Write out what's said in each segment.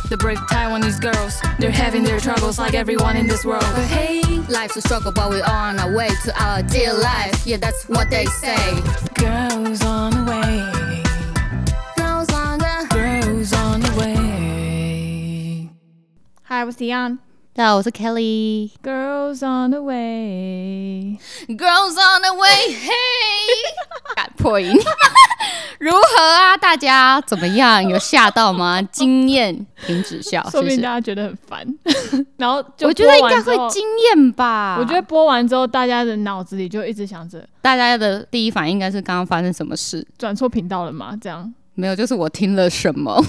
The brave Taiwanese girls, they're having their troubles like everyone in this world. But hey, life's a struggle, but we're on our way to our dear life. Yeah, that's what they say. girls on the way, Girls on the girls on the way. Hi， 我是 Dion。 大家好，我是 Kelly。 Girls on the way， Girls on the way， 嘿，敢破音。如何啊？大家怎么样？有吓到吗？惊艳，停止笑， 说不定谢谢。 大家觉得很烦，然后就我觉得应该播完之后会惊艳吧。 我觉得播完之后，大家的脑子里就一直想着大家的第一反应应该是刚刚发生什么事。 转错频道了吗？这样没有，就是我听了什么。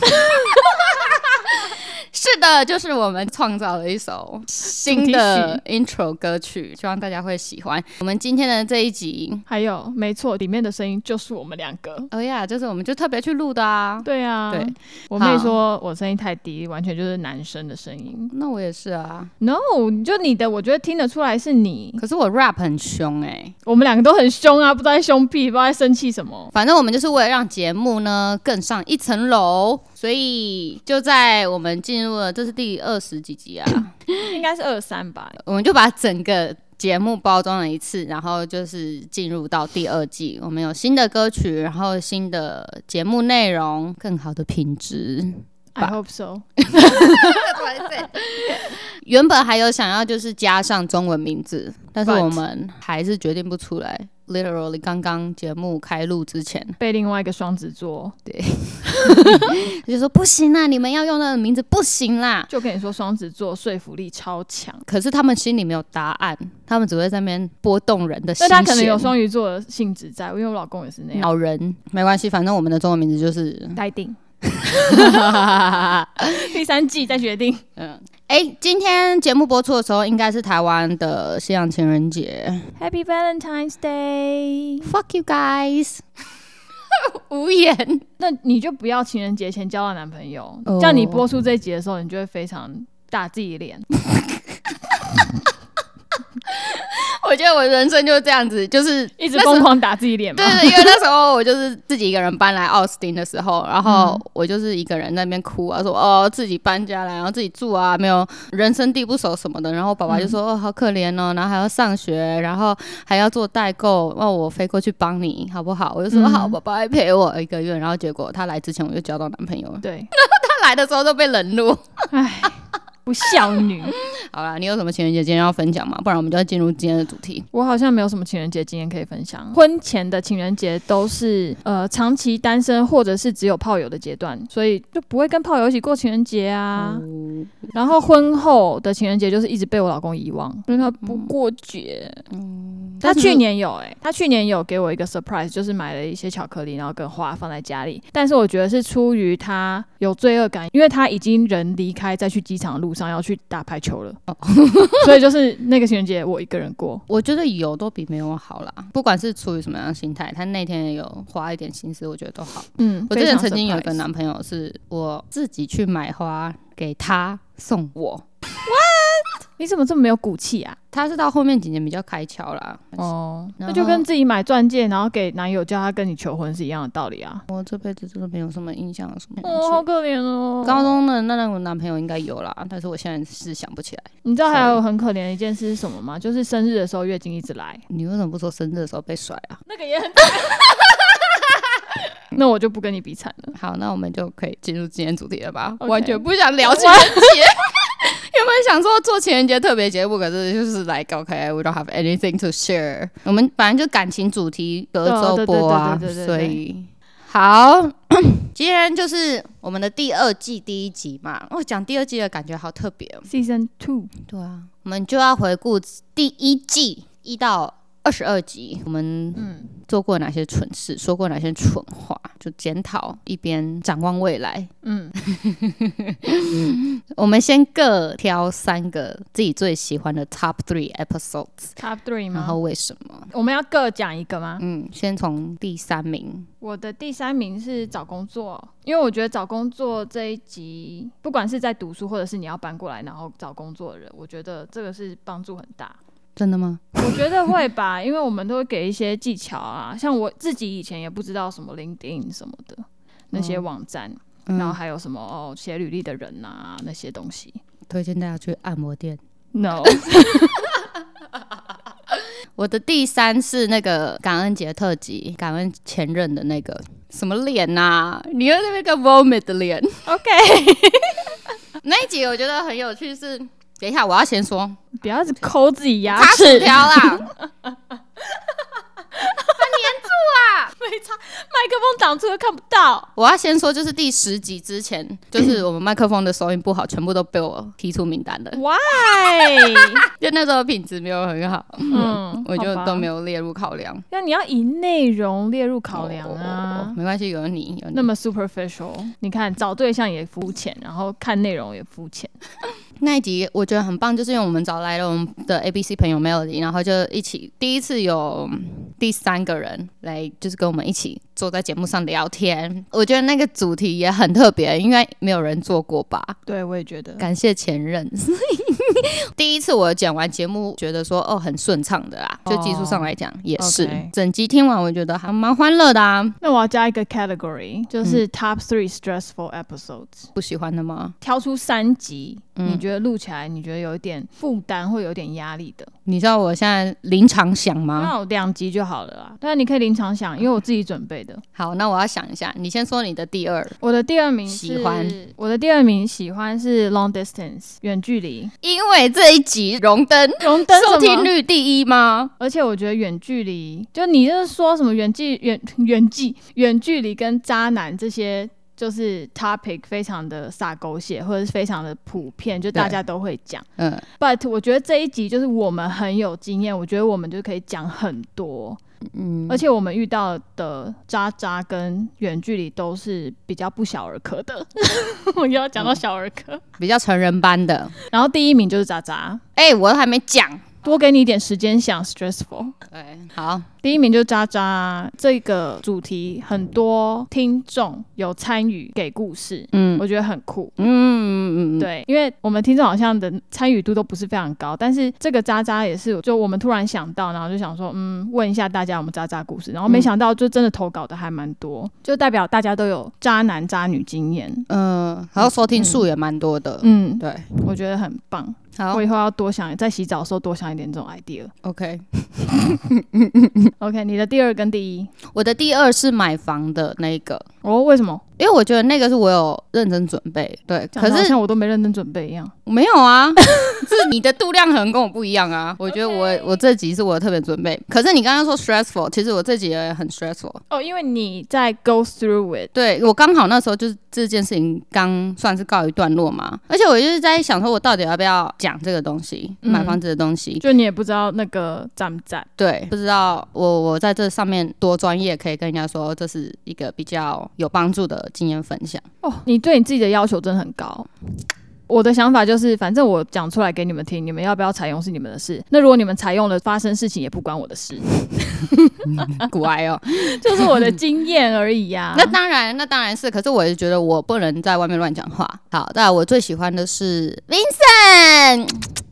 是的，就是我们创造了一首新的 intro 歌曲，希望大家会喜欢。我们今天的这一集， 还有没错，里面的声音就是我们两个。 哦呀，就是我们就特别去录的啊。 对啊， 对， 我妹说我声音太低，完全就是男生的声音。 那我也是啊， No， 就你的，我觉得听得出来是你。 可是我 rap 很凶欸。 我们两个都很凶啊，不知道在凶屁，不知道在生气什么。 反正我们就是为了让节目呢更上一层楼，所以就在我们进入了，这是第20几集啊， 应该是23吧。 我们就把整个节目包装了一次，然后就是进入到第2季，我们有新的歌曲，然后新的节目内容，更好的品质。 I hope so 原本还有想要就是加上中文名字，但是我们还是决定不出来。Literally 刚刚节目开录之前， 被另外一个双子座就说不行啦，你们要用那个名字不行啦。 就跟你说，双子座说服力超强， 可是他们心里没有答案，他们只会在那边拨动人的心弦。 但他可能有双鱼座的性质在，因为我老公也是那样。 老人没关系，反正我们的中文名字就是待定。第3季再决定。 今天节目播出的时候，应该是台湾的西洋情人节。 Happy Valentine's Day！ Fuck you guys！ 无言。 那你就不要情人节前交到男朋友，这样你播出这一集的时候，你就会非常打自己脸。 我觉得我人生就是这样子，就是一直疯狂打自己脸嘛。 对，因为那时候我就是自己一个人搬来奥斯汀的时候，然后我就是一个人在那边哭啊，说自己搬家来，然后自己住啊，没有人生地不熟什么的。然后爸爸就说好可怜哦，然后还要上学，然后还要做代购，我飞过去帮你好不好？我就说好，爸爸会陪我1个月。然后结果他来之前我就交到男朋友了， 对， 他来的时候都被冷落。 唉，不孝女。 好啦，你有什么情人节今天要分享吗？不然我们就要进入今天的主题。 我好像没有什么情人节经验可以分享。婚前的情人节都是长期单身或者是只有炮友的阶段，所以就不会跟炮友一起过情人节啊。然后婚后的情人节就是一直被我老公遗忘，因为他不过节。他去年有给我一个 surprise， 就是买了一些巧克力，然后跟花放在家里。但是我觉得是出于他有罪恶感，因为他已经人离开，在去机场的路上要去打排球了。所以就是那个情人节我一个人过。 我觉得有都比没有好啦，不管是出于什么样的心态，他那天也有花一点心思，我觉得都好。我之前曾经有一个男朋友，是我自己去买花给他送我。 What？ 你怎么这么没有骨气啊？ 他是到后面几年比较开窍啦。 那就跟自己买钻戒，然后给男友叫他跟你求婚是一样的道理啊。 我这辈子真的没有什么印象，什么好可怜哦。 高中的那个男朋友应该有啦，但是我现在是想不起来。 你知道还有很可怜的一件事是什么吗？就是生日的时候月经一直来。 你为什么不说生日的时候被甩啊？ 那个也很惨。那我就不跟你比惨了。 好，那我们就可以进入今天主题了吧？ Okay. 完全不想聊情人节。原本想说做情人节特别节目，可是就是 like OK, we don't have anything to share。我们反正就感情主题隔周播啊，所以好，今天就是我们的第2季第1集嘛。讲第2季的感觉好特别哦。 Season 2， 对啊，我们就要回顾第1季1到22集，我们做过哪些蠢事，说过哪些蠢话，就检讨，一边展望未来。我们先各挑3个自己最喜欢的 Top 3 episodes。Top 3吗？ 然后为什么？ 我们要各讲一个吗？ 先从第3名。 我的第3名是找工作，因为我觉得找工作这一集，不管是在读书或者是你要搬过来然后找工作的人，我觉得这个是帮助很大。 真的吗？ 我觉得会吧，因为我们都会给一些技巧啊，像我自己以前也不知道什么 LinkedIn 什么的那些网站， 然后还有什么写履历的人啊那些东西。 推荐大家去按摩店。 No 我的第3是那个感恩节特辑，感恩前任的那个什么脸啊，你有那个 vomit 的脸。 OK 那一集我觉得很有趣是，等一下我要先说， 不要只抠自己牙卡薯齿， 条啦，黏住啊！ 没差，麦克风挡住又看不到。 我要先说，就是第10集之前，就是我们麦克风的收音不好，全部都被我踢出名单了。 Why？ 就那时候品质没有很好，我就都没有。 有列入考量。 那你要以内容列入考量啊。 没关系，有你。 那么 superficial， 你看找对象也肤浅，然后看内容也肤浅。 那一集我觉得很棒，就是因为我们找来了我们的 ABC 朋友 Melody， 然后就一起第一次有第3个人来，就是跟我们一起坐在节目上聊天。我觉得那个主题也很特别，因为没有人做过吧。 对，我也觉得。 感谢前任。第一次我剪完节目，觉得说很顺畅的啦，就技术上来讲也是。整集听完，我觉得还蛮欢乐的啊。 那我要加一个 category， 就是 Top 3 stressful episodes。 不喜欢的吗？ 挑出3集，你觉得录起来你觉得有一点负担或有点压力的？ 你知道我现在临场想吗？ 那我2集就好了啦。但你可以临场想，因为我自己准备的。 好，那我要想一下，你先说你的第2。 我的第2名喜欢， 我的第2名喜欢是 long distance 远距离， 因为这一集荣登收听率第1吗？ 而且我觉得远距离，就你就是说什么远距离跟渣男这些。就是 topic 非常的洒狗血，或者是非常的普遍，就大家都会讲。But 我觉得这一集就是我们很有经验，我觉得我们就可以讲很多。而且我们遇到的渣跟远距离都是比较不小儿科的。我又要讲到小儿科， 比较成人班的。 然后第1名就是渣， 我还没讲。 多给你一点时间想 stressful。 对，好， 第1名就渣这个主题，很多听众有参与给故事，我觉得很酷。对，因为我们听众好像的参与度都不是非常高，但是这个渣也是，就我们突然想到，然后就想说，问一下大家有没有渣故事，然后没想到就真的投稿的还蛮多，就代表大家都有渣男渣女经验。 然后收听数也蛮多的。对， 我觉得很棒。 好， 我以后要多想，在洗澡的时候多想一点这种 idea。 OK 你的第2跟第1？ 我的第2是买房的那个。 为什么？ 因为我觉得那个是我有认真准备。对，可是像我都没认真准备一样。 没有啊，是你的度量可能跟我不一样啊。我觉得我这集是我特别准备，可是你刚刚说 stressful， 其实我这集也很 stressful。 因为你在 go through it。 对，我刚好那时候就是这件事情刚算是告一段落嘛，而且我就是在想说我到底要不要讲这个东西，买房子的东西， 就你也不知道那个赞不赞。 对，不知道我在这上面多专业，可以跟人家说这是一个比较有帮助的经验分享。 你对你自己的要求真的很高。我的想法就是，反正我讲出来给你们听，你们要不要采用是你们的事。那如果你们采用了，发生事情也不关我的事。 乖哦， 就是我的经验而已呀。 那当然是，可是我也觉得我不能在外面乱讲话。好，当然我最喜欢的是 Vincent。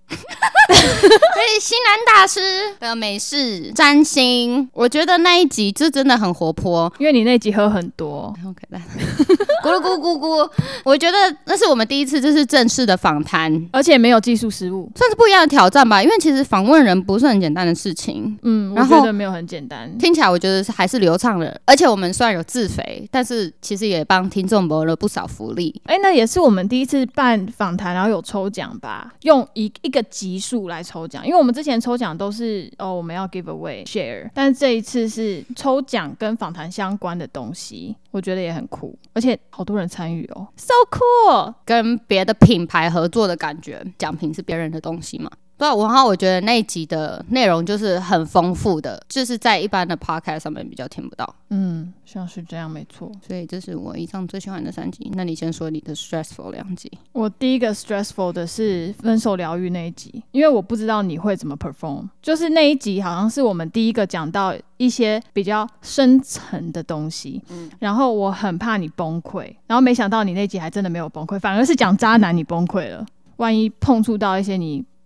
西南大师的美式占星，我觉得那一集就真的很活泼， 因为你那集喝很多。 OK， 咕噜咕咕咕，我觉得那是我们第一次就是正式的访谈， 而且没有技术失误， 算是不一样的挑战吧。因为其实访问人不是很简单的事情， 我觉得没有很简单， 听起来我觉得还是流畅的。而且我们虽然有自肥，但是其实也帮听众谋了不少福利。 那也是我们第一次办访谈，然后有抽奖吧，用一个集数来抽奖。因为我们之前抽奖都是我们要 give away share， 但是这一次是抽奖跟访谈相关的东西，我觉得也很酷，而且好多人参与哦 ，so cool， 跟别的品牌合作的感觉，奖品是别人的东西嘛。对啊，然后我觉得那一集的内容就是很丰富的，就是在一般的 podcast 上面比较听不到。 像是这样，没错。 所以这是我以上最喜欢的3集。那你先说你的 stressful 2集。 我第一个 stressful 的是分手疗愈那一集，因为我不知道你会怎么 perform， 就是那一集好像是我们第一个讲到一些比较深层的东西，然后我很怕你崩溃，然后没想到你那集还真的没有崩溃，反而是讲渣男你崩溃了。万一碰触到一些你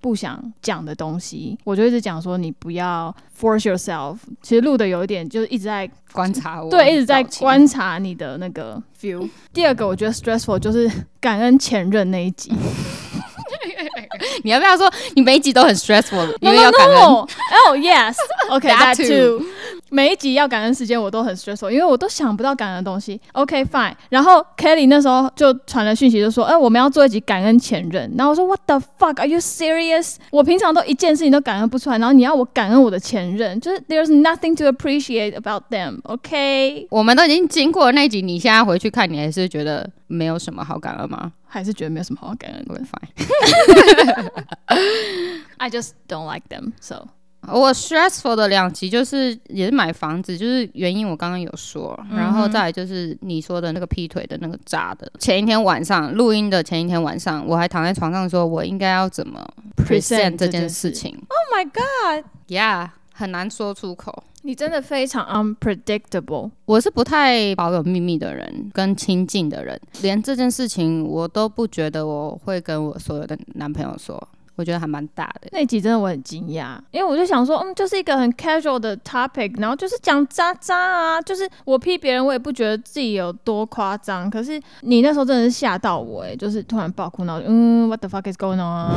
不想讲的东西，我就一直讲说你不要 force yourself。其实录的有一点就是一直在观察我， 对，一直在观察你的那个 feel。第二个我觉得 stressful 就是感恩前任那一集。 你要不要说你每一集都很 stressful， 因为要感恩 Oh yes OK that too 每一集要感恩时间我都很 stressful， 因为我都想不到感恩的东西。 OK fine， 然后 Kelly 那时候就传了讯息就说我们要做一集感恩前任，然后我说 What the fuck are you serious， 我平常都一件事情都感恩不出来，然后你要我感恩我的前任，就是 there's nothing to appreciate about them。 OK， 我们都已经经过那一集，你现在回去看你还是觉得没有什么好感恩吗？ 还是觉得没有什么好感恩的。 Fine I just don't like them so。 我 stressful 的2集就是也是买房子，就是原因我刚刚有说，然后再来就是你说的那个劈腿的那个炸的。前一天晚上录音的前一天晚上，我还躺在床上说我应该要怎么 present 这件事情。 Oh my god， yeah， 很难说出口。 你真的非常 unpredictable。 我是不太保有秘密的人，跟亲近的人，连这件事情我都不觉得我会跟我所有的男朋友说。我觉得还蛮大的。 那一集真的我很惊讶，因为我就想说就是一个很 casual 的 topic， 然后就是讲渣渣啊，就是我批别人我也不觉得自己有多夸张，可是你那时候真的是吓到我就是突然爆哭，然后what the fuck is going on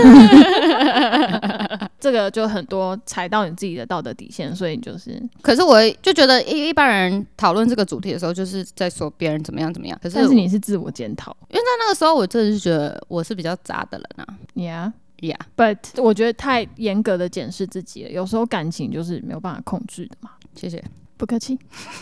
这个就很多踩到你自己的道德底线，所以就是可是我就觉得一般人讨论这个主题的时候就是在说别人怎么样怎么样，可是但是你是自我检讨， 因为在那个时候我真的是觉得我是比较渣的人啊。 Yeah but 我觉得太严格的检视自己了，有时候感情就是没有办法控制的嘛。 谢谢， 不客气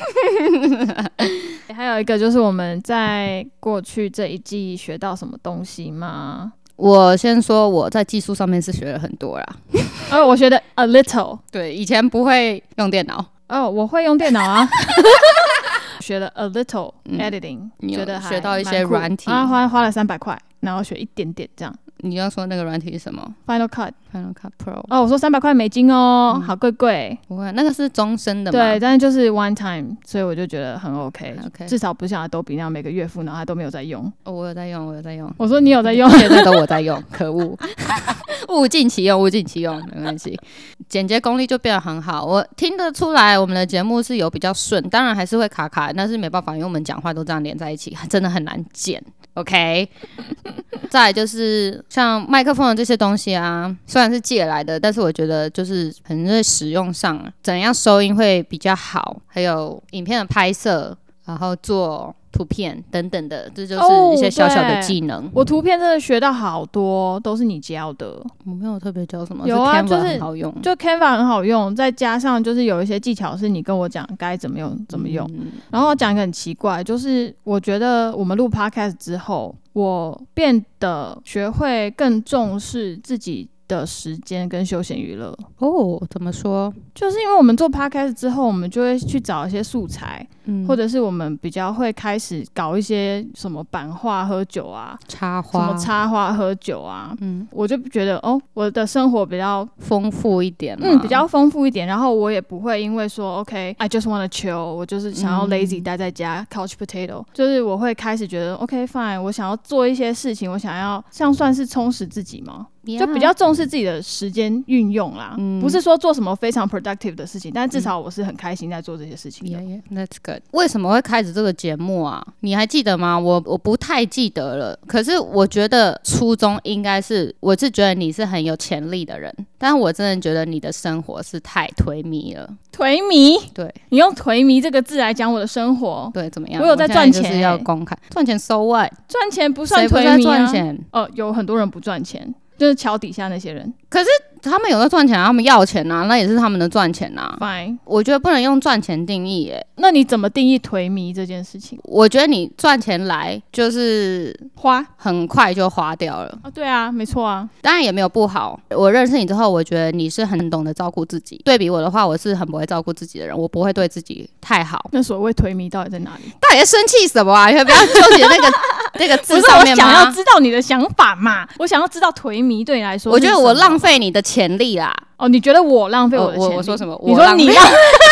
还有一个就是我们在过去这一季学到什么东西吗？ 我先说我在技术上面是学了很多啦我学的 a little， 对，以前不会用电脑我会用电脑啊学了 a little editing，觉得还学到一些软体花了300块，然后学一点点这样。 你要说那个软体是什么？ Final Cut Pro。 我说300块美金好贵。 不会，那个是终身的嘛？ 对，但是就是 one time， 所以我就觉得很 OK， 至少不像Adobe那样每个月付，然后他都没有在用。 我有在用。 我说你有在用， 现在都我在用，可恶物尽其用，没关系。剪接功力就变得很好，我听得出来我们的节目是有比较顺，当然还是会卡卡，但是没办法，因为我们讲话都这样连在一起，真的很难剪。OK， 再来就是像麦克风的这些东西啊，虽然是借来的，但是我觉得就是可能在使用上怎样收音会比较好，还有影片的拍摄，然后做图片等等的，这就是一些小小的技能。 我图片真的学到好多，都是你教的。 我没有特别教什么， 有啊， 是 Canva 很好用， 就 Canva 很好用，再加上就是有一些技巧是你跟我讲该怎么用。然后我讲一个很奇怪，就是我觉得我们录 Podcast 之后，我变得学会更重视自己的时间跟休闲娱乐。 怎么说？ 就是因为我们做 podcast 之后，我们就会去找一些素材，或者是我们比较会开始搞一些什么版画喝酒啊， 插花， 什么插花喝酒啊，我就觉得我的生活比较丰富一点， 比较丰富一点，然后我也不会因为说 OK I just wanna chill， 我就是想要 lazy 待在家 couch potato， 就是我会开始觉得 OK fine， 我想要做一些事情，我想要这样算是充实自己吗？就比较重视自己的时间运用啦，不是说做什么非常 productive 的事情，但至少我是很开心在做这些事情的。 That's good。为什么会开始这个节目啊？你还记得吗？我不太记得了。可是我觉得初衷应该是，我是觉得你是很有潜力的人，但是我真的觉得你的生活是太颓靡了。 颓靡？ 对， 你用颓靡这个字来讲我的生活， 对，怎么样？ 我有在赚钱， 就是要公开赚钱 so what？ 赚钱不算颓靡啊。 谁不在赚钱？ 有很多人不赚钱。就是桥底下那些人， 可是他们有在赚钱啊，他们要钱啊，那也是他们的赚钱啊。 Fine， 我觉得不能用赚钱定义耶。 那你怎么定义颓靡这件事情？ 我觉得你赚钱来就是花， 很快就花掉了。 对啊，没错啊， 当然也没有不好。我认识你之后，我觉得你是很懂得照顾自己。对比我的话，我是很不会照顾自己的人，我不会对自己太好。 那所谓颓靡到底在哪里？ 到底在生气什么啊？你不要纠结那个字上面吗？ 不是，我想要知道你的想法嘛。我想要知道颓靡对你来说， 我觉得我浪费你的潜力啦。 你觉得我浪费我的潜力？ 我说什么？ 你说你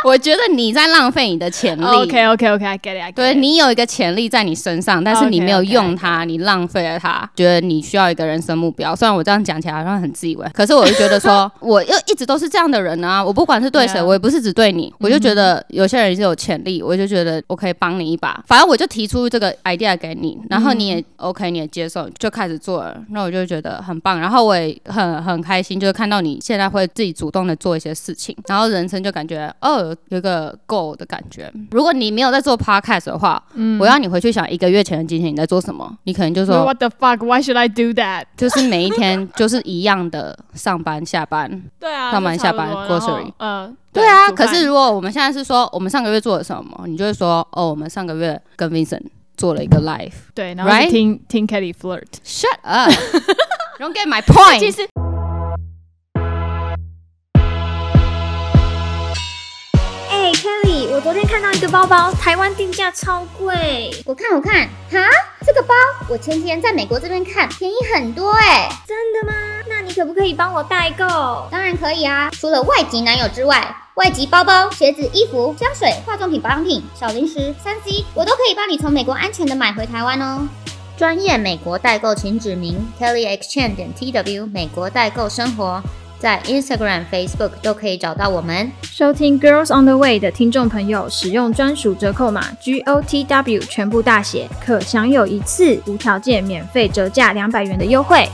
我觉得你在浪费你的潜力。 OK，I get it， 对，你有一个潜力在你身上，但是你没有用它，你浪费了它。觉得你需要一个人生目标，虽然我这样讲起来好像很自以为，可是我就觉得说，我又一直都是这样的人啊。我不管是对谁，我也不是只对你，我就觉得有些人是有潜力，我就觉得我可以帮你一把。反正我就提出这个 idea 给你，然后你也 OK，你也接受，就开始做了。那我就觉得很棒，然后我也很开心，就是看到你现在会自己主动的做一些事情，然后人生就感觉有一个 goal 的感觉。如果你没有在做 podcast 的话，我要你回去想1个月前的今天你在做什么，你可能就说 What the fuck? Why should I do that? 就是每一天就是一样的上班下班， 对啊， 上班下班 grocery。 对啊，可是如果我们现在是说我们上个月做了什么，你就会说我们上个月跟 Vincent 做了一个 live， 对，然后是听 Kelly flirt。Shut up! Don't get my point. 其实。 Kelly， 我昨天看到一个包包，台湾定价超贵。 我看，哈，这个包我前几天在美国这边看，便宜很多真的吗？那你可不可以帮我代购？ 当然可以啊，除了外籍男友之外，外籍包包、鞋子、衣服、香水、化妆品、保养品、小零食、3C， 我都可以帮你从美国安全的买回台湾哦。专业美国代购，请指明 kellyexchange.tw 美国代购生活。在 Instagram、Facebook 都可以找到我们。 收听 Girls on the Way 的听众朋友，使用专属折扣码 GOTW 全部大写，可享有一次无条件免费折价200元的优惠。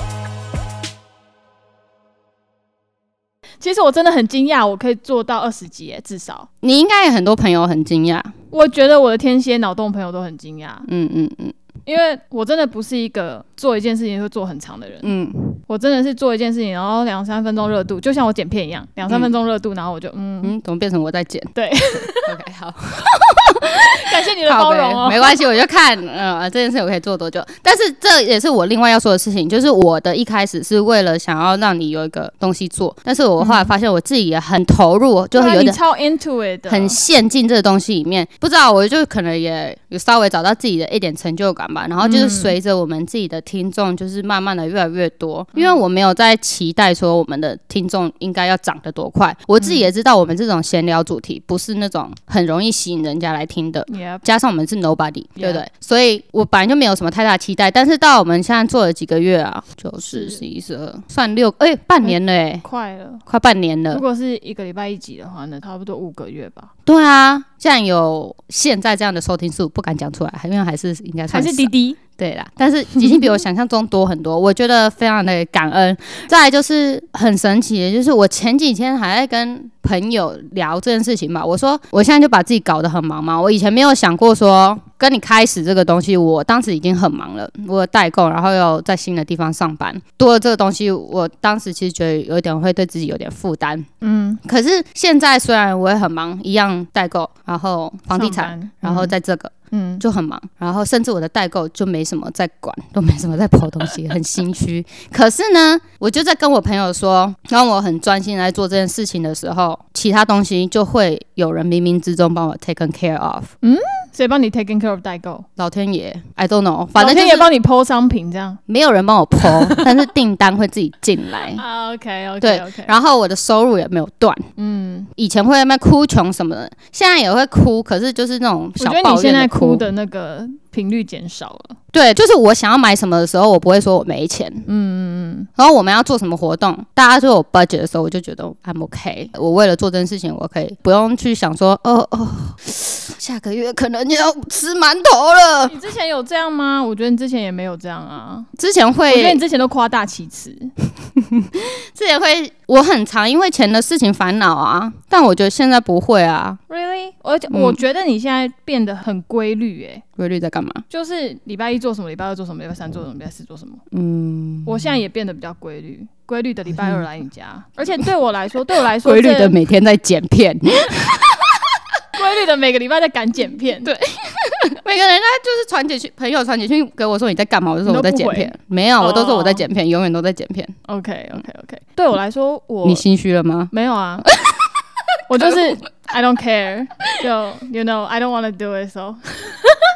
其实我真的很惊讶，我可以做到20集耶，至少。 你应该有很多朋友很惊讶。 我觉得我的天蝎脑洞朋友都很惊讶。因为我真的不是一个做一件事情会做很长的人。我真的是做一件事情，然后2-3分钟热度，就像我剪片一样，2-3分钟热度，然后我就怎么变成我在剪？ 对 ，OK， 好， 感谢你的包容哦。 没关系，我就看这件事我可以做多久。但是这也是我另外要说的事情，就是我的一开始是为了想要让你有一个东西做，但是我后来发现我自己也很投入，就有点超 into it 的， 很陷进这个东西里面。不知道，我就可能也有稍微找到自己的一点成就感吧。然后就是随着我们自己的听众，就是慢慢的越来越多，因为我没有在期待说我们的听众应该要涨得多快。我自己也知道，我们这种闲聊主题不是那种很容易吸引人家来听的，加上我们是 nobody， 对不对？所以我本来就没有什么太大期待。但是到我们现在做了几个月啊，9、10、11、12，算半年了快半年了。 如果是1个礼拜1集的话，那差不多5个月吧。 对啊，既然有现在这样的收听数，不敢讲出来，因为还是应该算还是滴滴。 对啦，但是已经比我想象中多很多，我觉得非常的感恩。再来就是很神奇的，就是我前几天还在跟朋友聊这件事情吧。我说我现在就把自己搞得很忙嘛，我以前没有想过说跟你开始这个东西，我当时已经很忙了，我有代购，然后又在新的地方上班，多了这个东西，我当时其实觉得有点会对自己有点负担。可是现在虽然我也很忙，一样代购，然后房地产，然后在这个。就很忙，然后甚至我的代购就没什么在管，都没什么在抛东西，很心虚。可是呢，我就在跟我朋友说，当我很专心来做这件事情的时候，其他东西就会有人冥冥之中帮我 taken care of。 谁帮你 taken care of 代购？ 老天爷 ，I don't know， 反正就是老天爷帮你抛商品这样， 没有人帮我抛，但是订单会自己进来。 OK， 对，然后我的收入也没有断。以前会在那边哭穷什么的，现在也会哭，可是就是那种小抱怨的哭。 我觉得你现在哭的那个频率减少了。 对，就是我想要买什么的时候，我不会说我没钱。然后我们要做什么活动，大家就有 budget 的时候，我就觉得 I'm OK。我为了做这件事情，我可以不用去想说，下个月可能要吃馒头了。 你之前有这样吗？我觉得你之前也没有这样啊。 之前会， 我觉得你之前都夸大其词。 之前会，我很常因为钱的事情烦恼啊，但我觉得现在不会啊。 Really？ 而且我觉得你现在变得很规律耶。 规律在干嘛？ 就是礼拜1做什么，礼拜2做什么，礼拜3做什么，礼拜4做什么。我现在也变得比较规律，规律的礼拜2来你家，而且对我来说， 规律的每天在剪片， 规律的每个礼拜在赶剪片。 对，每个人家就是传简讯，朋友传简讯给我说你在干嘛，我就说我在剪片。没有，我都说我在剪片，永远都在剪片。 OK。对我来说， 你心虚了吗？ 没有啊，我就是 I don't care， 就 you know I don't want to do it so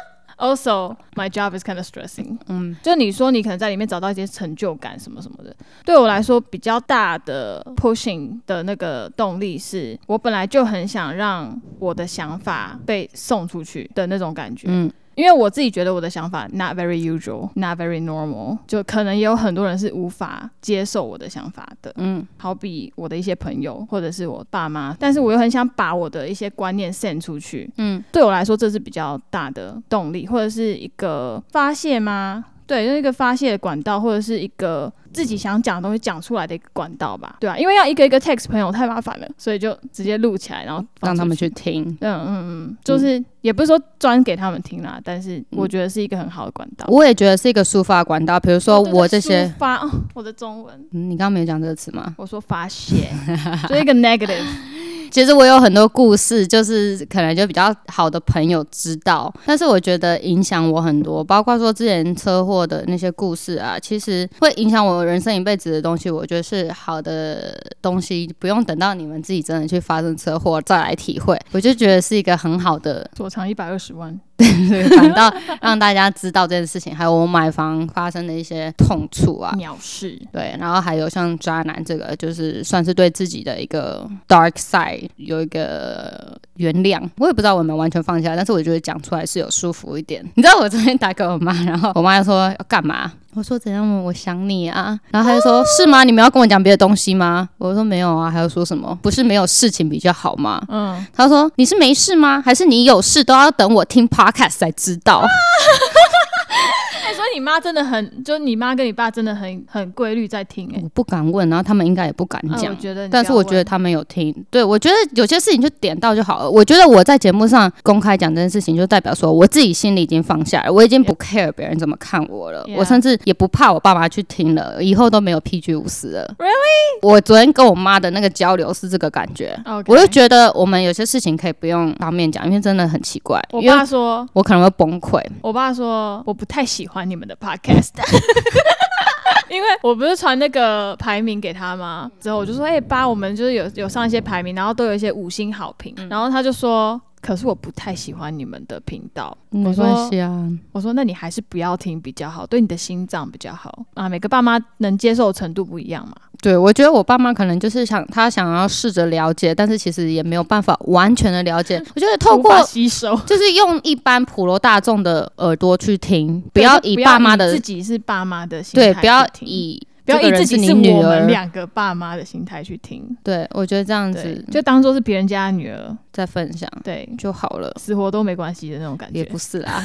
Also, my job is kind of stressing. 就你说你可能在里面找到一些成就感什么什么的，对我来说比较大的 pushing 的那个动力是，我本来就很想让我的想法被送出去的那种感觉。因为我自己觉得我的想法 not very usual, not very normal， 就可能也有很多人是无法接受我的想法的。好比我的一些朋友或者是我爸妈，但是我又很想把我的一些观念 send 出去。对我来说这是比较大的动力，或者是一个发泄吗？对，就是一个发泄的管道，或者是一个自己想讲的东西讲出来的一个管道吧。对啊，因为要一个一个 text 朋友太麻烦了，所以就直接录起来，然后让他们去听。 就是也不是说专给他们听啦，但是我觉得是一个很好的管道。 我也觉得是一个抒发管道，比如说我这些抒发我的中文。 你刚刚没有讲这个词吗？ 我说发泄，就是一个 negative。 其实我有很多故事，就是可能就比较好的朋友知道，但是我觉得影响我很多，包括说之前车祸的那些故事啊，其实会影响我人生一辈子的东西，我觉得是好的东西，不用等到你们自己真的去发生车祸再来体会，我就觉得是一个很好的所长120万。 反倒让大家知道这件事情，还有我买房发生的一些痛处啊、 鸟事。 对，然后还有像渣男这个，就是算是对自己的一个 dark side 有一个原谅。我也不知道我有没有完全放下，但是我觉得讲出来是有舒服一点。你知道我昨天打给我妈，然后我妈就说要干嘛？我说怎样？我想你啊。然后她就说是吗？你们要跟我讲别的东西吗？我说没有啊。还有说什么？不是没有事情比较好吗？她说你是没事吗？还是你有事都要等我听 podcast 才知道？ 所以你妈真的很，就你妈跟你爸真的很规律在听。 我不敢问，然后他们应该也不敢讲。 我觉得但是我觉得他们有听。对，我觉得有些事情就点到就好了。我觉得我在节目上公开讲这件事情，就代表说我自己心里已经放下了，我已经不 care 别人怎么看我了。我甚至也不怕我爸妈去听了，以后都没有 PG50了。 Really？ 我昨天跟我妈的那个交流是这个感觉。我就觉得我们有些事情可以不用当面讲，因为真的很奇怪。 我爸说， 我可能会崩溃。 我爸说，我不太喜欢你们的 podcast。因为我不是传那个排名给他吗？之后我就说，爸，我们就是有上一些排名，然后都有一些5星好评，然后他就说，可是我不太喜欢你们的频道。 没关系啊， 我说那你还是不要听比较好，对你的心脏比较好啊。每个爸妈能接受的程度不一样嘛。 对，我觉得我爸妈可能就是想要试着了解，但是其实也没有办法完全的了解。我觉得透过吸收， 就是用一般普罗大众的耳朵去听，不要以爸妈的自己是爸妈的心态去听， 对，不要以自己是我们2个爸妈的心态去听。 对，我觉得这样子就当做是别人家的女儿在分享， 对就好了， 死活都没关系的那种感觉。 也不是啦，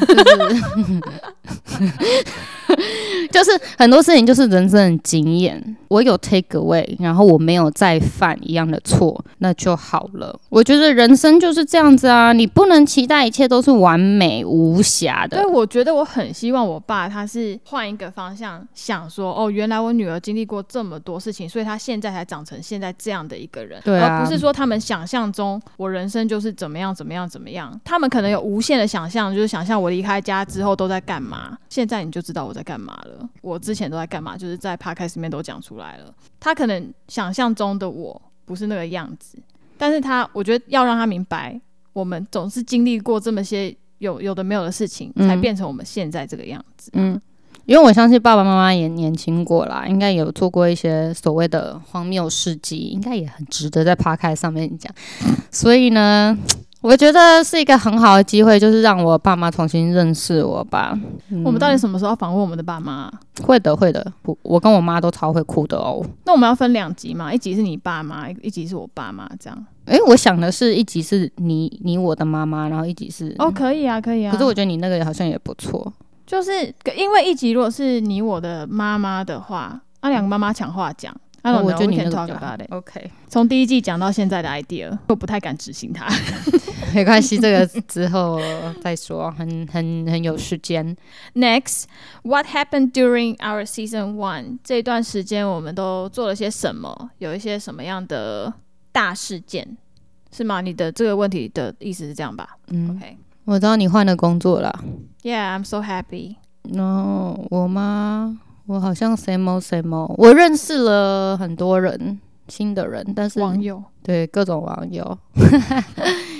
就是很多事情就是人生的经验，我有 take away， 然后我没有再犯一样的错，那就好了。我觉得人生就是这样子啊，你不能期待一切都是完美无瑕的。 对，我觉得我很希望我爸他是换一个方向想说，原来我女儿经历过这么多事情，所以她现在才长成现在这样的一个人。 对啊， 而不是说他们想象中我人生就是怎么样怎么样怎么样，他们可能有无限的想象，就是想象我离开家之后都在干嘛。现在你就知道我在干嘛了，我之前都在干嘛，就是在 podcast 里面都讲出来了。他可能想象中的我不是那个样子，但是我觉得要让他明白，我们总是经历过这么些有的没有的事情，才变成我们现在这个样子。 因为我相信爸爸妈妈也年轻过啦，应该有做过一些所谓的荒谬事迹，应该也很值得在 podcast 上面讲。所以呢，我觉得是一个很好的机会，就是让我爸妈重新认识我吧。 我们到底什么时候访问我们的爸妈？ 会的，我跟我妈都超会哭的哦。 那我们要分2集嘛，一集是你爸妈，一集是我爸妈，这样。 我想的是一集是你我的妈妈，然后一集是可以啊，可以啊。 可是我觉得你那个好像也不错。 就是因为一集如果是你我的妈妈的话，2个妈妈抢话讲， 我觉得你那个 talk about it。 OK， 从第1季讲到现在的 idea， 我不太敢执行它。 没关系，这个之后再说，很有时间。 Next, what happened during our season 1？ 这段时间我们都做了些什么？有一些什么样的大事件？是吗？你的这个问题的意思是这样吧？OK。 我知道你换了工作了。 Yeah, I'm so happy. No， 我吗？我好像 same old。我认识了很多人，新的人，但是网友， 对各种网友，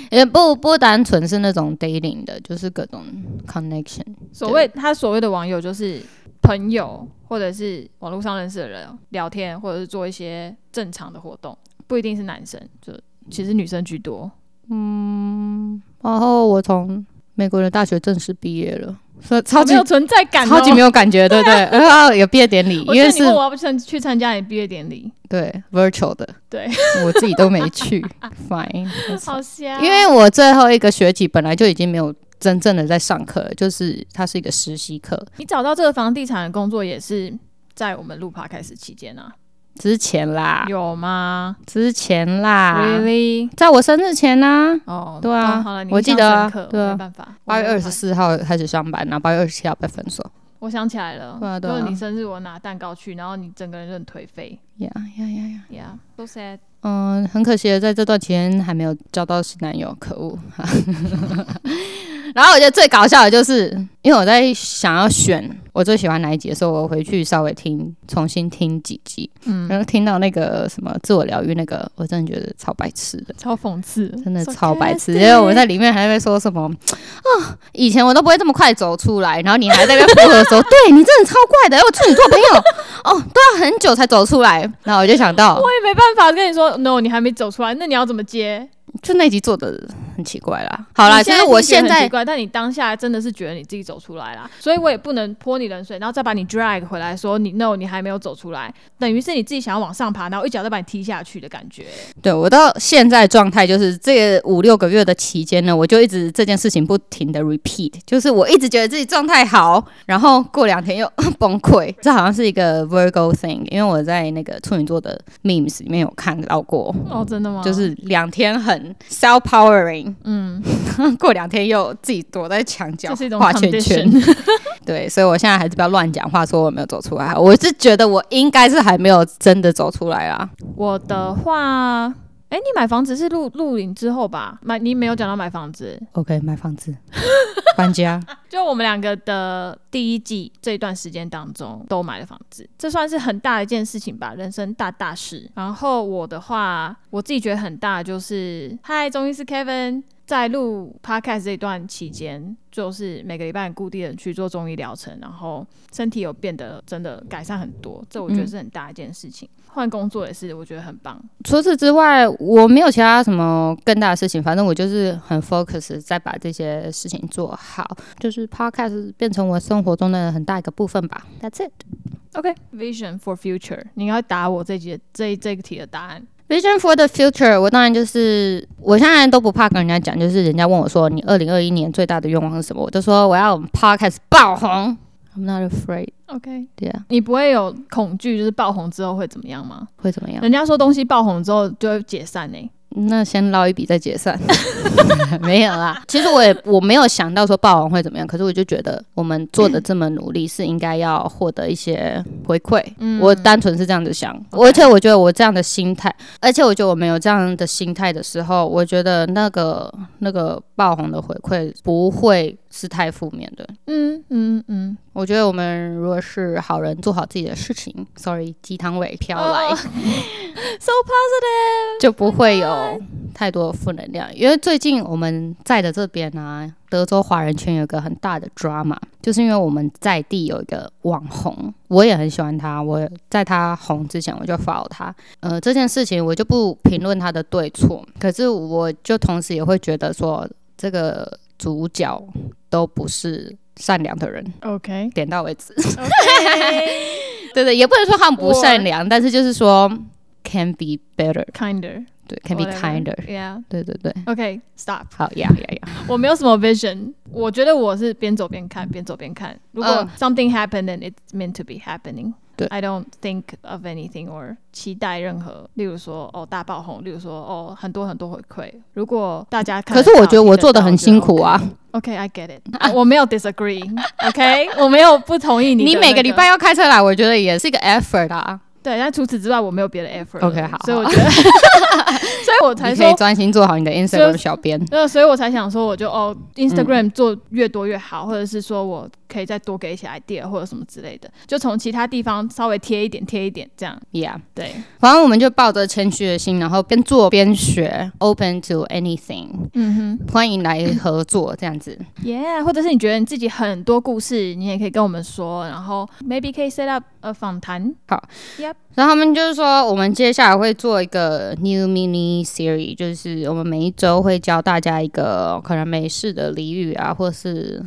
也不单纯是那种 dating 的，就是各种 connection。 他所谓的网友就是朋友，或者是网络上认识的人聊天，或者是做一些正常的活动，不一定是男生，就其实女生居多。 然后我从美国的大学正式毕业了，所以超级没有存在感， 超级没有感觉，对不对？然后有毕业典礼，因为是我要不去参加你毕业典礼， 对 virtual 的， 对我自己都没去，fine， 好瞎。 因为我最后一个学期本来就已经没有真正的在上课了，就是它是一个实习课。 你找到这个房地产的工作也是在我们录 podcast 期间啊？ 之前啦， 有吗？ 之前啦 ，really， 在我生日前啦。 哦， 对啊， 好了， 我记得啊，对啊， 没办法。 8月24号开始上班，然后8月27号被分手。 我想起来了， 对啊， 就是你生日我拿蛋糕去，然后你整个人就很颓废。Yeah，so sad。 很可惜的，在这段期间还没有交到新男友，可恶。然后我觉得最搞笑的就是，因为我在想要选我最喜欢哪一集的时候，我回去稍微重新听几集，然后听到那个什么自我疗愈那个，我真的觉得超白痴的， 超讽刺， 真的超白痴。因为我在里面还在说什么以前我都不会这么快走出来，然后你还在那边附和说，对你真的超怪的，我处女座朋友都要很久才走出来。然后我就想到， 我也没办法跟你说 ，no， 你还没走出来，那你要怎么接？ 就那集做的很奇怪啦。好啦，其实我现在很奇怪，但你当下真的是觉得你自己走出来啦，所以我也不能泼你冷水，然后再把你 drag 回来说你 no， 你还没有走出来，等于是你自己想要往上爬，然后一脚再把你踢下去的感觉。对， 我到现在状态就是这个5-6个月的期间呢，我就一直这件事情不停的 repeat， 就是我一直觉得自己状态好，然后过2天又崩溃。这好像是一个 Virgo thing， 因为我在那个处女座的 memes 里面有看到过。 哦，真的吗？ 就是2天很 self-powering， 过2天又自己躲在墙角画圈圈。对，所以我现在还是不要乱讲话，说我没有走出来。我是觉得我应该是还没有真的走出来啦。 我的话，你买房子是录影之后吧？你没有讲到买房子。 OK， 买房子，搬家。 就我们2个的第一季这一段时间当中都买了房子，这算是很大的一件事情吧，人生大事。然后我的话，我自己觉得很大就是嗨，中医师 Kevin 在录 podcast 这一段期间，就是每个礼拜很固定的去做中医疗程，然后身体有变得真的改善很多，这我觉得是很大一件事情。换工作也是，我觉得很棒。 除此之外，我没有其他什么更大的事情，反正我就是很 focus 在把这些事情做好，就是 podcast 变成我生活中的很大一个部分吧。That's it. OK, vision for future. 你应该答我这个题的答案。 Vision for the future， 我当然就是我现在都不怕跟人家讲，就是人家问我说你2021年最大的愿望是什么，我就说我要podcast 爆红。I'm not afraid. OK， 对啊， 你不会有恐惧，就是爆红之后会怎么样吗？ 会怎么样？ 人家说东西爆红之后就会解散欸。 那先捞一笔再解散。没有啦，其实我没有想到说爆红会怎么样，可是我就觉得我们做的这么努力是应该要获得一些回馈。我单纯是这样子想，而且我觉得我这样的心态，而且我觉得我们有这样的心态的时候，我觉得那个爆红的回馈不会是太负面的。我觉得我们如果是好人，做好自己的事情 ，sorry， 鸡汤味飘来 ，so positive， 就不会有太多的负能量。因为最近我们在的这边啊，德州华人圈有一个很大的 drama， 就是因为我们在地有一个网红，我也很喜欢他，我在他红之前我就 follow 他。这件事情我就不评论他的对错，可是我就同时也会觉得说，这个主角都不是善良的人。 OK， 点到为止。对，也不能说他们不善良，但是就是说 can be better， kinder， 对 ，can be kinder， yeah， 对。 OK， stop。 好 ，yeah。 我没有什么 vision， 我觉得我是边走边看。如果 something happened and it's meant to be happening。I don't think of anything or 期待任何，例如说大爆红，例如说很多回馈。如果大家看， 可是我觉得我做的很辛苦啊。 OK, I get it 我没有 disagree。OK， 我没有不同意你。 你每个礼拜要开车来，我觉得也是一个 effort 啊。 对，但除此之外我没有别的 effort。 OK， 好。 所以我觉得，所以我才说你可以专心做好你的 Instagram 小编。 所以我才想说，我就Instagram 做越多越好，或者是说我可以再多给一些 idea 或者什么之类的，就从其他地方稍微贴一点这样。 Yeah， 对， 反正我们就抱着谦虚的心，然后边做边学 ，open to anything， 欢迎来合作这样子。 Yeah， 或者是你觉得你自己很多故事，你也可以跟我们说，然后 maybe 可以 set up 访谈。 好 ，Yep。 然后他们就是说，我们接下来会做一个 new mini series， 就是我们每一周会教大家一个可能美式的俚语啊，或是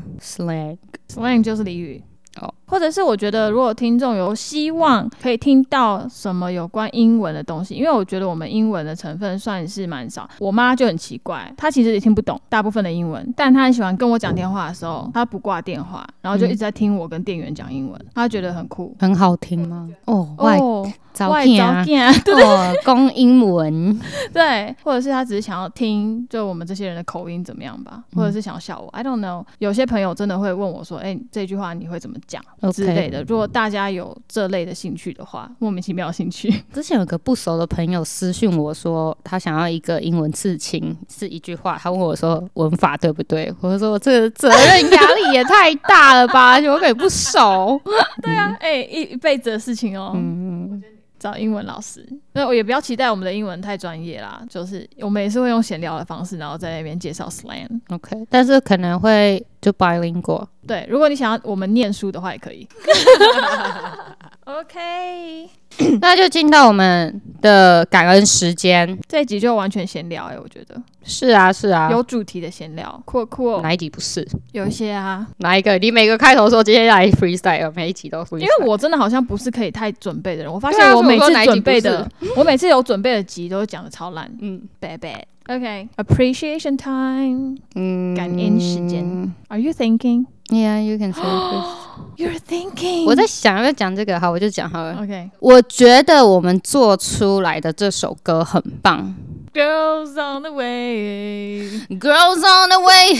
slang 就是俚语。或者是我觉得如果听众有希望可以听到什么有关英文的东西，因为我觉得我们英文的成分算是蛮少。我妈就很奇怪，她其实也听不懂大部分的英文，但她很喜欢跟我讲电话的时候，她不挂电话，然后就一直在听我跟店员讲英文，她觉得很酷。 很好听吗？ 外照片， 讲英文， 对，或者是他只是想要听就我们这些人的口音怎么样吧，或者是想要笑我 I don't know。 有些朋友真的会问我说这句话你会怎么讲之类的。如果大家有这类的兴趣的话，莫名其妙的兴趣。 之前有个不熟的朋友私讯我说他想要一个英文刺青，是一句话，他问我说文法对不对，我说这个责任压力也太大了吧，我根本不熟。 对啊，一辈子的事情哦。找英文老师，那我也不要期待我们的英文太专业啦，就是我们也是会用闲聊的方式，然后在那边介绍 slang。OK， 但是可能会就 bilingual。 对，如果你想要我们念书的话也可以。OK， 那就进到我们的感恩时间。 这一集就完全闲聊我觉得。 是啊是啊， 有主题的闲聊，酷。 哪一集不是？ 有一些啊。 哪一个？你每个开头说接下来 freestyle， 每一集都 freestyle。因为我真的好像不是可以太准备的人，我发现我每次准备的，我每次有准备的集都讲的超烂。bad。OK， appreciation time， 感恩时间。Are you thinking? Yeah, you can say this. You're thinking. 我在想要不要讲这个，好，我就讲好了。 OK， 我觉得我们做出来的这首歌很棒。 Girls on the way, Girls on the way,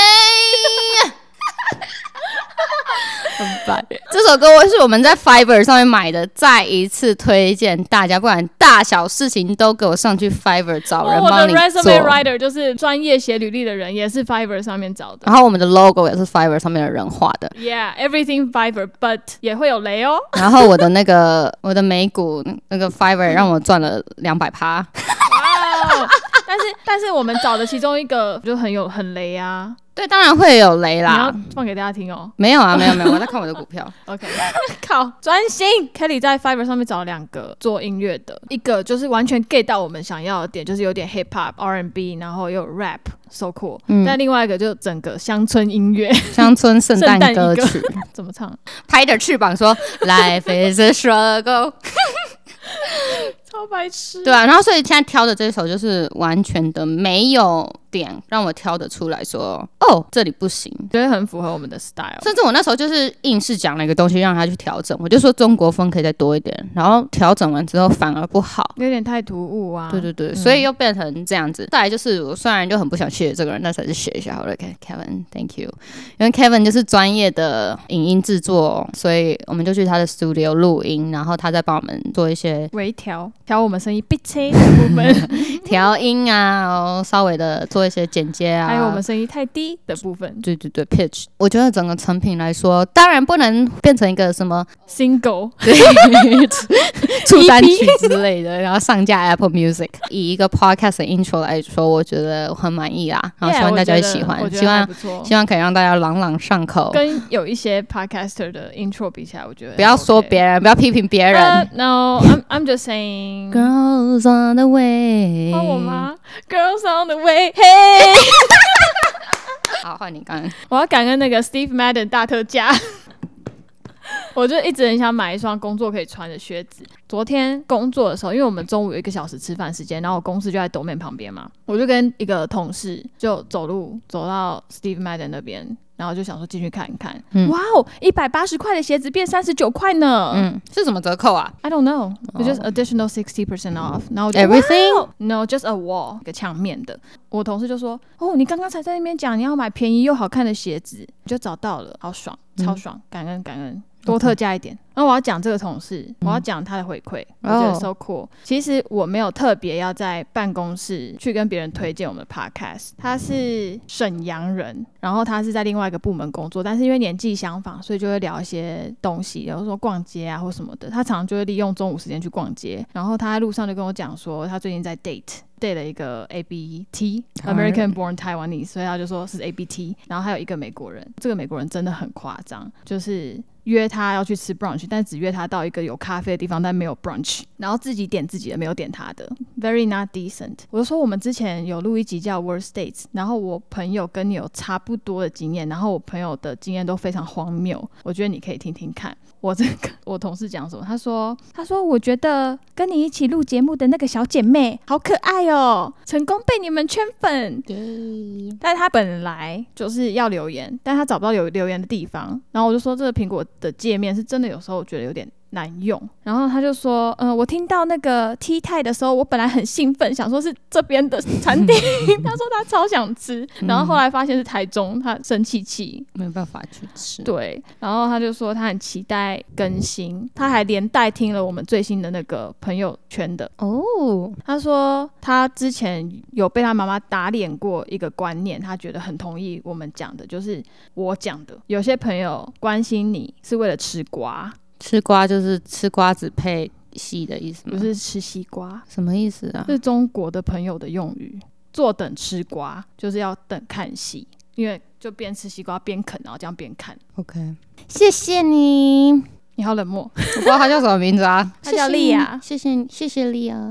hey 很烦。这首歌是我们在 Fiverr 上面买的，再一次推荐大家，不管大小事情都给我上去 Fiverr 找人帮你做。 我的 resume writer 就是专业写履历的人，也是 Fiverr 上面找的。 然后我们的 logo 也是 Fiverr 上面的人画的。 Yeah, everything Fiverr, but 也会有雷哦。 然后我的美股那个 Fiverr 让我赚了200%。 但是我们找的其中一个就很雷啊。 对，当然会有雷啦。 你要放给大家听哦。 没有啊，没有，我在看我的股票。 OK， 靠，专心。Kelly 在 Fiverr 上面找了2个做音乐的，一个就是完全 get 到我们想要的点，就是有点 hip hop、R&B， 然后又有 rap，so cool。但另外一个就整个乡村音乐、 乡村圣诞歌曲， 怎么唱？ 拍着翅膀说 ，Life is a struggle。 超白痴。 对啊，然后所以现在挑的这首就是完全的没有点让我挑得出来说，这里不行， 觉得很符合我们的 style。 甚至我那时候就是硬是讲了一个东西让他去调整，我就说中国风可以再多一点，然后调整完之后反而不好， 有点太突兀啊。 对，所以又变成这样子。再来就是我虽然就很不想谢这个人，但是还是谢一下好了。Kevin Thank you， 因为 Kevin 就是专业的影音制作，所以我们就去他的 studio 录音，然后他再帮我们做一些微调我们声音 pitch 的部分， 调音啊，然后稍微的做一些剪接啊， 还有我们声音太低的部分。 对 pitch。 我觉得整个成品来说，当然不能变成一个什么 single 出单曲之类的，然后上架 Apple Music。以一个 podcast 的 intro 来说，我觉得很满意啦，然后希望大家会喜欢，希望可以让大家朗朗上口。 跟有一些 podcaster 的 intro 比起来，我觉得不要说别人，不要批评别人。 No, I'm just saying. Girls on the way. 换我吗 ？Girls on the way, hey. 好，换你感恩。 我要感恩那个 Steve Madden 大特价。我就一直很想买一双工作可以穿的靴子。昨天工作的时候，因为我们中午有1个小时吃饭时间，然后我公司就在斗面旁边嘛，我就跟一个同事就走到 Steve Madden 那边，然后就想说进去看一看。哇哦，180块的鞋子变39块呢。 是什么折扣啊 ？I don't know. It's just additional 60% off. 然后我就 Everything? No, just a wall， 一个墙面的。我同事就说：“你刚刚才在那边讲你要买便宜又好看的鞋子，就找到了，好爽，超爽，感恩。” 多特价一点。然后我要讲这个同事，我要讲他的回馈，我觉得 so cool。其实我没有特别要在办公室去跟别人推荐我们的 podcast。他是沈阳人，然后他是在另外一个部门工作，但是因为年纪相仿，所以就会聊一些东西，比如说逛街啊或什么的。他常常就会利用中午时间去逛街，然后他在路上就跟我讲说，他最近在 date 了一个 ABT American Born Taiwanese， 所以他就说是 ABT， 然后还有一个美国人。这个美国人真的很夸张，就是约他要去吃 brunch， 但只约他到一个有咖啡的地方，但没有 brunch， 然后自己点自己的，没有点他的 ，very not decent。我就说我们之前有录一集叫 Worst Dates， 然后我朋友跟你有差不多的经验，然后我朋友的经验都非常荒谬，我觉得你可以听听看。我同事讲什么？他说我觉得跟你一起录节目的那个小姐妹好可爱哦，成功被你们圈粉。但是他本来就是要留言，但他找不到留言的地方，然后我就说这个苹果的界面是真的有时候我觉得有点难用。然后他就说我听到那个 T 泰的时候，我本来很兴奋，想说是这边的餐厅他说他超想吃，然后后来发现是台中，他生气没办法去吃。 对，然后他就说他很期待更新，他还连带听了我们最新的那个朋友圈的他说他之前有被他妈妈打脸过一个观念，他觉得很同意我们讲的，就是我讲的，有些朋友关心你是为了吃瓜。 吃瓜就是吃瓜子配戏的意思吗？ 不是吃西瓜。 什么意思啊？ 是中国的朋友的用语，坐等吃瓜就是要等看戏，因为就边吃西瓜边啃，然后这样边看。 OK， 谢谢你。 你好冷漠。 我不知道他叫什么名字啊。 他叫莉亚。 谢谢莉亚。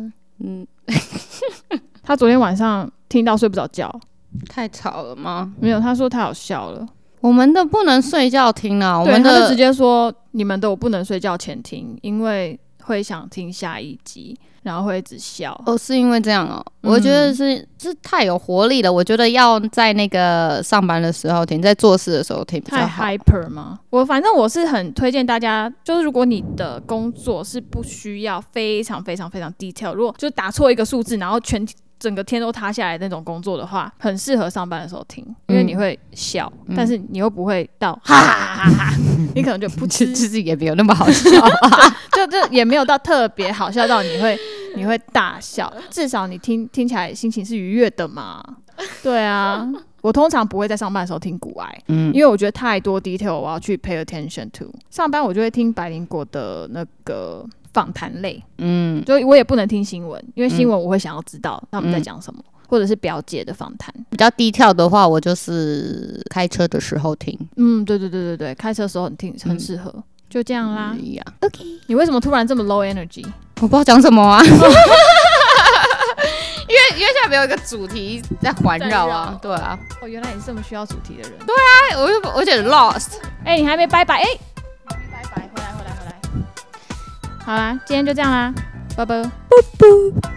他昨天晚上听到睡不着觉。 太吵了吗？ 没有，他说太好笑了。 我们的不能睡觉听啊，我们的他就直接说你们的我不能睡觉前听，因为会想听下一集，然后会一直笑。是因为这样哦。 我觉得是太有活力了，我觉得要在那个上班的时候听，在做事的时候听比较好。 太 hyper 吗？反正我是很推荐大家，就是如果你的工作是不需要非常非常非常 detail， 如果就打错一个数字，然后整个天都塌下来的那种工作的话，很适合上班的时候听，因为你会笑，但是你又不会到哈哈哈哈，你可能就不其实也没有那么好笑就也没有到特别好笑到你会大笑，至少你听起来心情是愉悦的嘛。对啊，我通常不会在上班的时候听股癌，因为我觉得太多 detail 我要去 pay attention to。上班我就会听百灵果的那个访谈类，就我也不能听新闻，因为新闻我会想要知道他们在讲什么，或者是表姐的访谈。 比较低调的话，我就是开车的时候听。 对，开车的时候很适合。就这样啦。 OK， 你为什么突然这么 low energy？ 我不知道讲什么啊。因为现在没有一个主题在环绕啊，对啊。 原来你是这么需要主题的人。 对啊，我有点 lost。 你还没拜拜，还没拜拜，回来。好啦，今天就这样啦，拜拜。